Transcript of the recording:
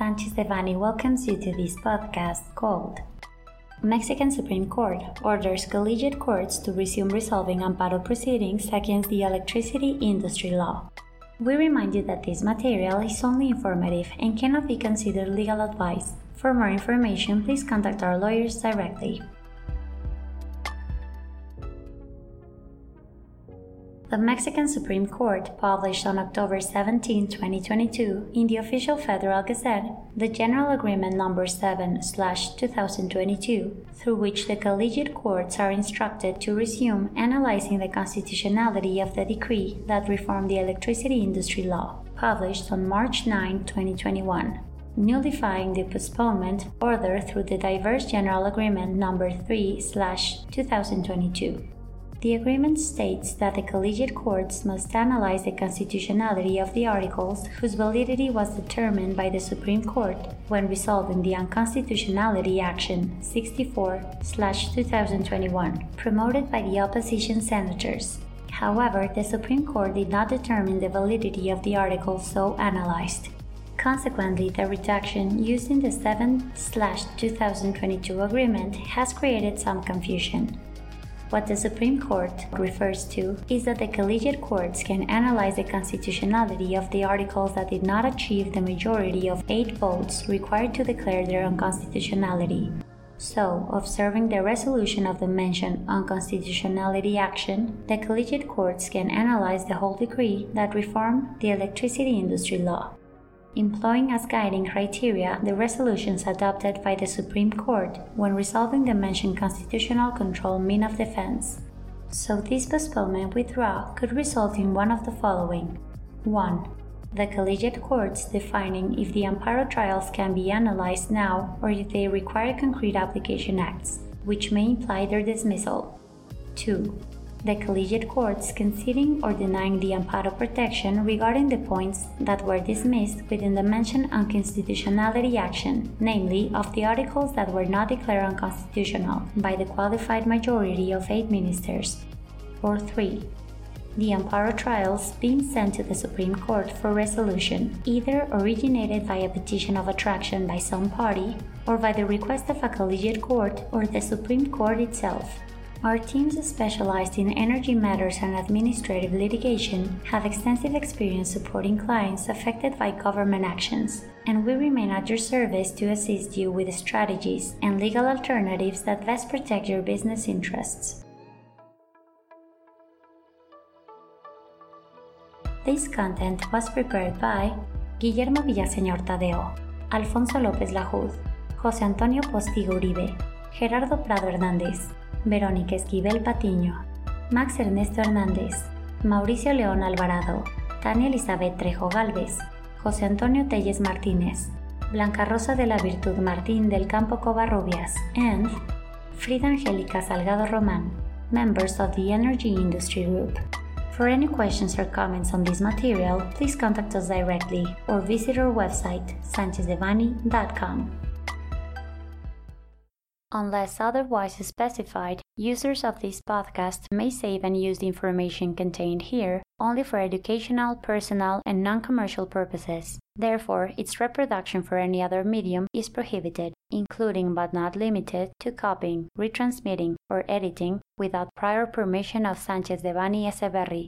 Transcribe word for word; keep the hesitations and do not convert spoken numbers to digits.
Sanchez Devanny welcomes you to this podcast called Mexican Supreme Court orders collegiate courts to resume resolving amparo proceedings against the electricity industry law. We remind you that this material is only informative and cannot be considered legal advice. For more information, please contact our lawyers directly. The Mexican Supreme Court published on October seventeenth, twenty twenty-two, in the Official Federal Gazette, the General Agreement Number seven slash two thousand twenty-two, through which the collegiate courts are instructed to resume analyzing the constitutionality of the decree that reformed the electricity industry law, published on March ninth, twenty twenty-one, nullifying the postponement order through the Diverse General Agreement Number three slash two thousand twenty-two. The agreement states that the collegiate courts must analyze the constitutionality of the articles whose validity was determined by the Supreme Court when resolving the unconstitutionality action sixty-four slash two thousand twenty-one, promoted by the opposition senators. However, the Supreme Court did not determine the validity of the articles so analyzed. Consequently, the redaction used in the seven slash two thousand twenty-two agreement has created some confusion. What the Supreme Court refers to is that the collegiate courts can analyze the constitutionality of the articles that did not achieve the majority of eight votes required to declare their unconstitutionality. So, observing the resolution of the mentioned unconstitutionality action, the collegiate courts can analyze the whole decree that reformed the electricity industry law, employing as guiding criteria the resolutions adopted by the Supreme Court when resolving the mentioned constitutional control mean of defense. So this postponement withdrawal could result in one of the following. one. The collegiate courts defining if the amparo trials can be analyzed now or if they require concrete application acts, which may imply their dismissal. two. The collegiate courts conceding or denying the amparo protection regarding the points that were dismissed within the mentioned unconstitutionality action, namely of the articles that were not declared unconstitutional by the qualified majority of eight ministers. Or three. The amparo trials being sent to the Supreme Court for resolution, either originated by a petition of attraction by some party or by the request of a collegiate court or the Supreme Court itself. Our teams specialized in energy matters and administrative litigation have extensive experience supporting clients affected by government actions, and we remain at your service to assist you with strategies and legal alternatives that best protect your business interests. This content was prepared by Guillermo Villaseñor Tadeo, Alfonso López Lajud, José Antonio Postigo Uribe, Gerardo Prado Hernández, Verónica Esquivel Patiño, Max Ernesto Hernández, Mauricio León Alvarado, Tania Elizabeth Trejo Galvez, José Antonio Telles Martínez, Blanca Rosa de la Virtud Martín del Campo Covarrubias, and Frida Angélica Salgado Román, members of the Energy Industry Group. For any questions or comments on this material, please contact us directly or visit our website, sanchez devanny dot com. Unless otherwise specified, users of this podcast may save and use the information contained here only for educational, personal, and non-commercial purposes. Therefore, its reproduction for any other medium is prohibited, including but not limited to copying, retransmitting, or editing without prior permission of Sanchez Devanny Echeverri.